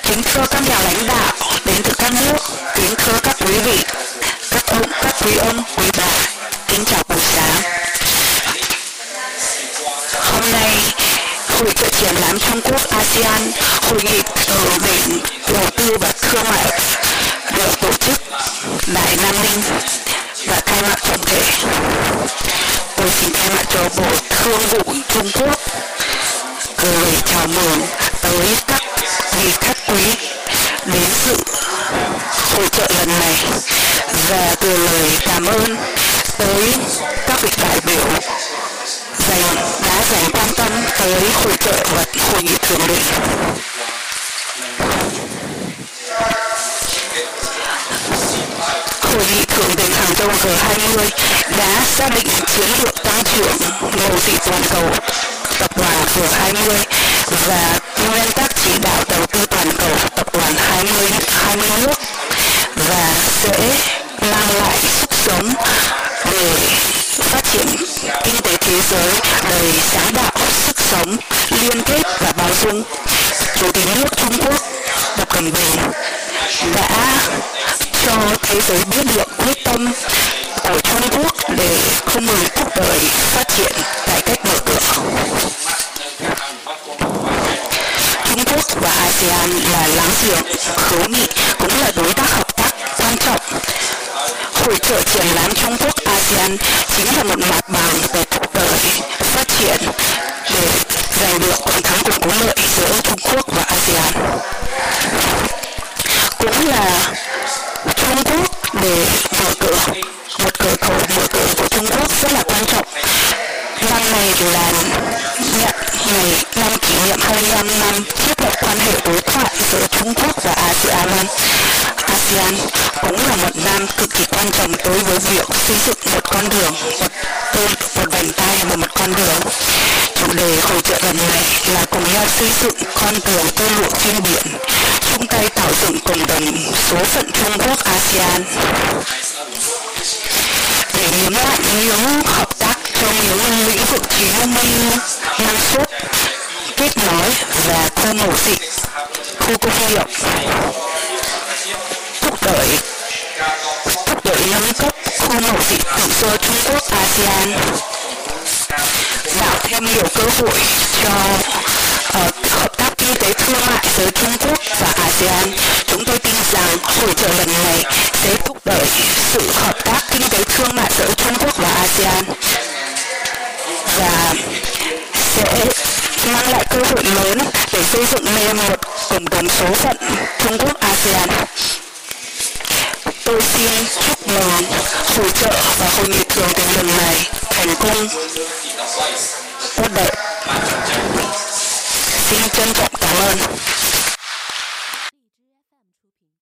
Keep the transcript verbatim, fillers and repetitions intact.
Kính thưa các nhà lãnh đạo đến từ các nước, kính thưa các quý vị, các ông, các quý ông, quý bà, kính chào buổi sáng. Hôm nay, Hội trợ triển lãm Trung Quốc a sê an, hội nghị thượng đỉnh đầu tư và thương mại được tổ chức tại Nam Ninh và khai mạc trọng thể. Tôi xin thay mặt cho Bộ Thương vụ Trung Quốc gửi chào mừng tới các vị khách quý đến dự hội trợ lần này và gửi lời cảm ơn tới các vị đại biểu dành đã dành quan tâm tới hội trợ và hội nghị thượng đỉnh. Hội nghị thượng đỉnh Hàng châu G hai mươi đã xác định chiến lược tăng trưởng ngành tỷ toàn cầu tập đoàn G hai mươi và nguyên tắc chỉ đạo đầu tư toàn cầu tập đoàn hai mươi, hai mươi nước và sẽ mang lại sức sống để phát triển kinh tế thế giới đầy sáng tạo, sức sống, liên kết và bao dung. Chủ tịch nước Trung Quốc Tập Cận Bình đã cho thế giới biết được quyết tâm của Trung Quốc để không ngừng thúc đẩy phát triển cải cách mở cửa. Trung Quốc và a sê an là láng giềng hữu nghị, cũng là đối tác hợp tác quan trọng. Hội trợ triển lãm Trung Quốc a sê an chính là một mặt bằng để thúc đẩy phát triển để giành được toàn thắng cùng có lợi giữa Trung Quốc và a sê an. Cũng là Trung Quốc để mở cửa một cửa khẩu mở cửa của Trung Quốc rất là quan trọng. Năm này là nhận ngày năm kỷ niệm hai mươi lăm năm thiết lập quan hệ đối thoại giữa Trung Quốc và a sê an. a sê an cũng là một năm cực kỳ quan trọng đối với việc xây dựng một con đường, một tên, một vành tay và một con đường. Chủ đề hội trợ lần này là cùng nhau xây dựng con đường tơ lụa trên biển, chung tay tạo dựng cộng đồng số phận Trung Quốc a sê an. Để nhấn mạnh những hợp tác trong những lĩnh vực chính như năng suất, kết nối và khu mậu dịch, khu công nghiệp, thúc đẩy thúc đẩy nâng cấp khu mậu dịch tự do Trung Quốc a sê an, tạo thêm nhiều cơ hội cho uh, hợp tác kinh tế thương mại giữa Trung Quốc và a sê an. Chúng tôi tin rằng hội trợ lần này sẽ thúc đẩy sự hợp tác kinh tế thương mại giữa Trung Quốc và a sê an và sẽ mang lại cơ hội lớn để xây dựng nên một cộng đồng số phận Trung Quốc a sê an. Tôi xin chúc mừng hội trợ và hội nghị thượng đỉnh lần này thành công tốt đẹp. Xin trân trọng cảm ơn.